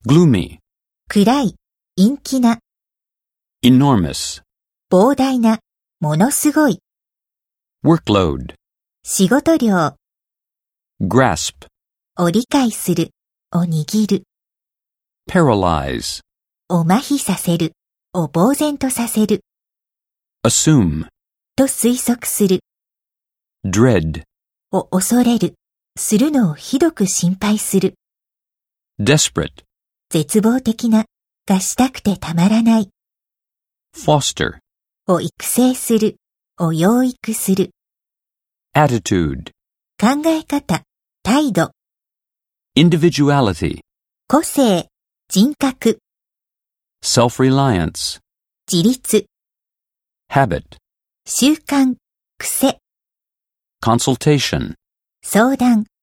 gloomy, 暗い、陰気な、 enormous, 膨大な、ものすごい、 workload, 仕事量、 grasp, を理解する、を握る、 paralyze, を麻痺させる、を呆然とさせる、 assume, と推測する、 dread, を恐れる、するのをひどく心配する、 desperate, 絶望的な、がしたくてたまらない、 foster, を育成する、を養育する、 attitude, 考え方、態度、 individuality, 個性、人格、 self-reliance, 自立、 habit, 習慣、癖、 consultation, 相談、